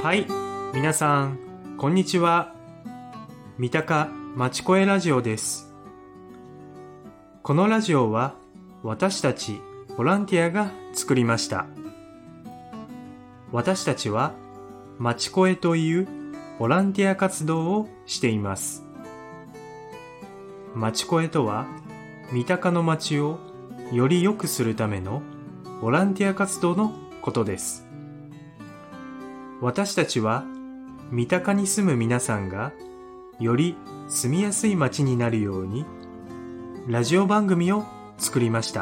はい、皆さんこんにちは。三鷹まちこえラジオです。このラジオは私たちボランティアが作りました。私たちはまちこえというボランティア活動をしています。まちこえとは三鷹の街をより良くするためのボランティア活動のことです。私たちは三鷹に住む皆さんがより住みやすい街になるようにラジオ番組を作りました。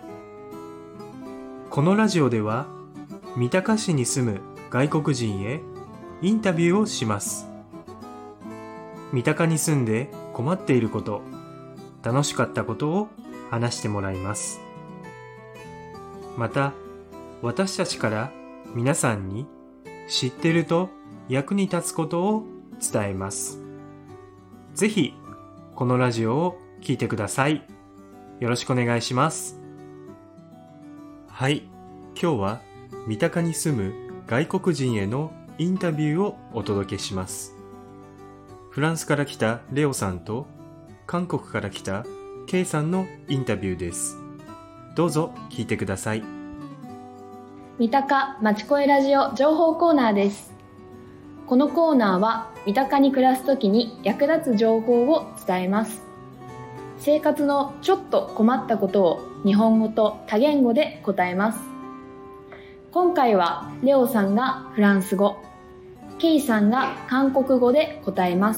このラジオでは三鷹市に住む外国人へインタビューをします。三鷹に住んで困っていること、楽しかったことを話してもらいます。また、私たちから皆さんに知ってると役に立つことを伝えます。ぜひ、このラジオを聞いてください。よろしくお願いします。はい、今日は三鷹に住む外国人へのインタビューをお届けします。フランスから来たレオさんと韓国から来たケイさんのインタビューです。どうぞ聞いてください。 三鷹まちこえラジオ情報コーナーです。このコーナーは三鷹に暮らすときに役立つ情報を伝えます。生活のちょっと困ったことを日本語と多言語で答えます。今回はレオさんがフランス語、ケイさんが韓国語で答えます。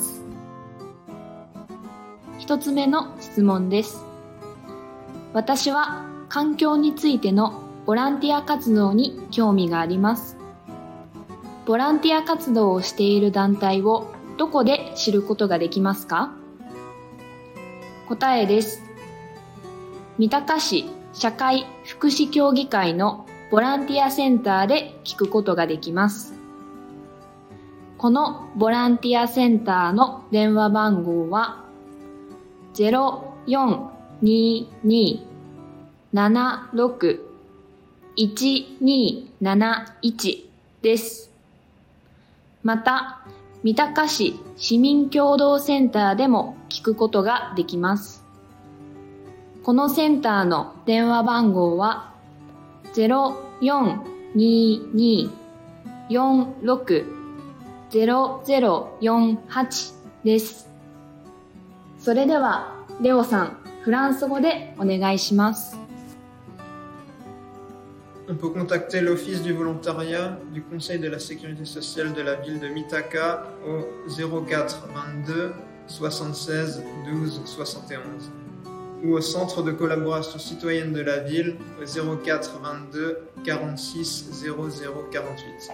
一つ目の質問です。私は環境についてのボランティア活動に興味があります。ボランティア活動をしている団体をどこで知ることができますか？答えです。三鷹市社会福祉協議会のボランティアセンターで聞くことができます。このボランティアセンターの電話番号は 0422-76-1271 です。また、三鷹市市民協同センターでも聞くことができます。このセンターの電話番号は 0422-46-0048 です。それでは、レオさん、フランス語でお願いします。 On peut contacter l'Office du volontariat du Conseil de la sécurité sociale de la ville de Mitaka au 04 22 76 12 71 ou au Centre de collaboration citoyenne de la ville au 04 22 46 00 48.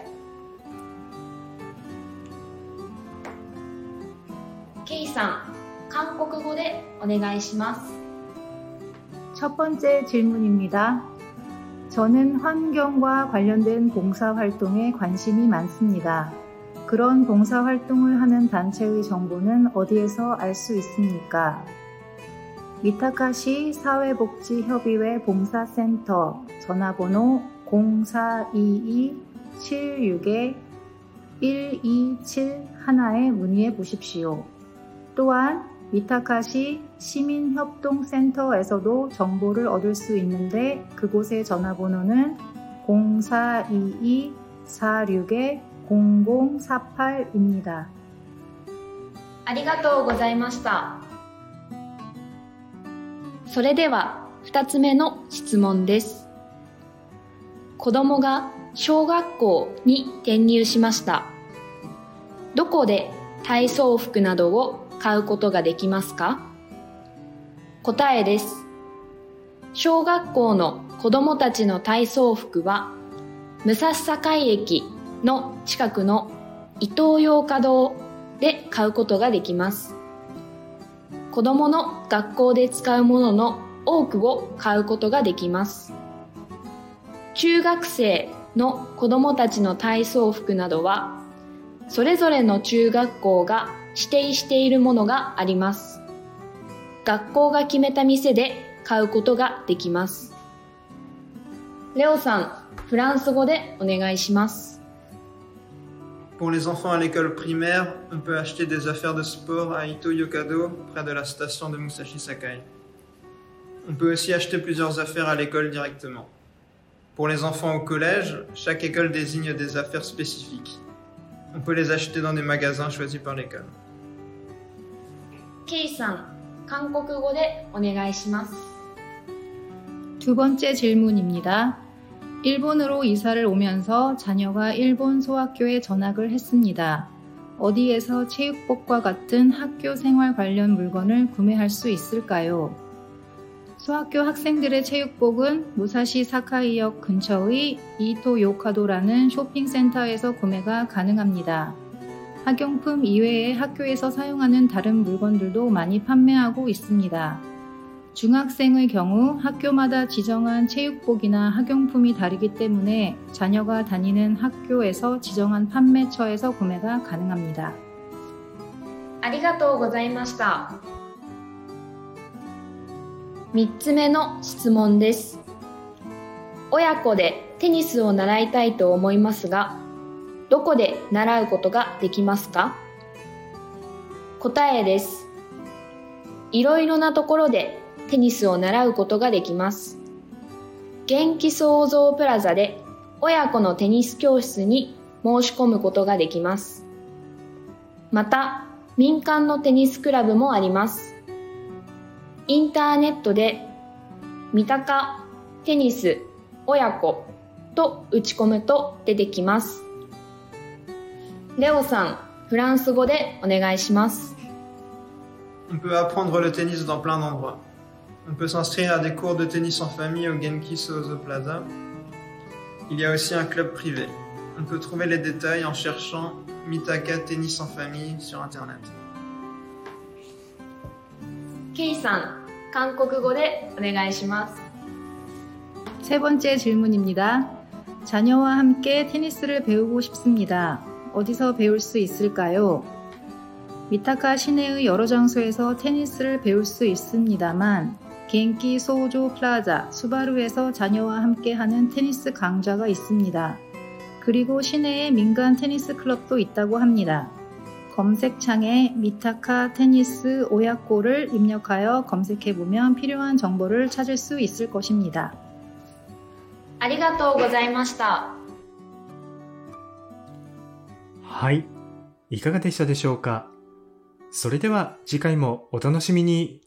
ケイさん、韓国語でお願いします。 첫 번째 질문입니다. 저는 환경과 관련된 봉사활동에 관심이 많습니다. 그런 봉사활동을 하는 단체의 정보는 어디에서 알 수 있습니까? 미타카시 사회복지협의회 봉사센터 전화번호 0422-76-1271에 문의해 보십시오. 또한 미타카시 시민협동센터에서도 정보를 얻을 수 있는데 그곳의 전화번호는 0422-46-0048입니다. ありがとうございました。それでは2つ目の質問です。子供が小学校に転入しました。どこで体操服などを買うことができますか？答えです。小学校の子どもたちの体操服は武蔵境駅の近くのイトーヨーカドーで買うことができます。子どもの学校で使うものの多くを買うことができます。中学生の子どもたちの体操服などはそれぞれの中学校が指定しているものがあります。学校が決めた店で買うことができます。レオさん、フランス語でお願いします。 Pour les enfants à l'école primaire, on peut acheter des affaires de sport à Ito Yokado, près de la station de Musashi Sakai. On peut aussi acheter plusieurs affaires à l'école directement. Pour les enfants au collège, chaque école désigne des affaires spécifiques. On peut les acheter dans des magasins choisis par l'école. ケイさん、韓国語でお願いします。 두 번째 질문입니다. 일본으로 이사를 오면서 자녀가 일본 소학교에 전학을 했습니다. 어디에서 체육복과 같은 학교 생활 관련 물건을 구매할 수 있을까요? 소학교 학생들의 체육복은 무사시 사카이역 근처의 이토 요카도라는 쇼핑센터에서 구매가 가능합니다. 학용품 이외에 학교에서 사용하는 다른 물건들도 많이 판매하고 있습니다. 중학생의 경우 학교마다 지정한 체육복이나 학용품이 다르기 때문에 자녀가 다니는 학교에서 지정한 판매처에서 구매가 가능합니다. ありがとうございました。3つ目の質問です。親子でテニスを習いたいと思いますが、どこで習うことができますか？答えです。いろいろなところでテニスを習うことができます。元気創造プラザで親子のテニス教室に申し込むことができます。また、民間のテニスクラブもあります。インターネットで三鷹テニス親子と打ち込むと出てきます。レオさん、フランス語でお願いします。 On peut apprendre le tennis dans plein d'endroits. On peut s'inscrire à des cours de tennis en famille au Genki Sozo Plaza. Il y a aussi un club privé. On peut trouver les détails en cherchant Mitaka Tennis en famille sur Internet. ケイさん、韓国語でお願いします。 세 번째 질문입니다. 자녀와 함께 테니스를 배우고 싶습니다. 어디서 배울 수 있을까요? 미타카 시내의 여러 장소에서 테니스를 배울 수 있습니다만 겐키 소조 플라자 수바루에서 자녀와 함께 하는 테니스 강좌가 있습니다. 그리고 시내에 민간 테니스 클럽도 있다고 합니다. 검색창에 미타카 테니스 오야코를 입력하여 검색해보면 필요한 정보를 찾을 수 있을 것입니다. ありがとうございました。 はい。いかがでしたでしょうか？それでは次回もお楽しみに。